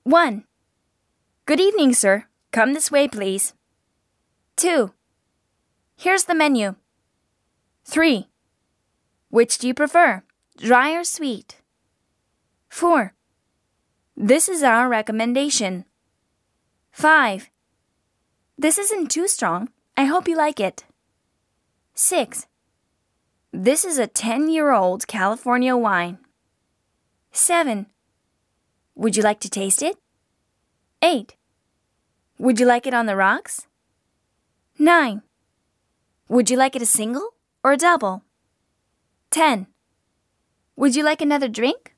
1. Good evening, sir. Come this way, please. 2. Here's the menu. 3. Which do you prefer, dry or sweet? 4. This is our recommendation. 5. This isn't too strong. I hope you like it. 6. This is a 10-year-old California wine. 7. Would you like to taste it? 8. Would you like it on the rocks? 9. Would you like it a single or a double? 10. Would you like another drink?